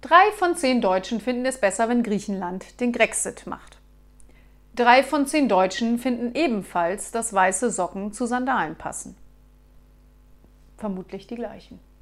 3 von 10 Deutschen finden es besser, wenn Griechenland den Grexit macht. 3 von 10 Deutschen finden ebenfalls, dass weiße Socken zu Sandalen passen. Vermutlich die gleichen.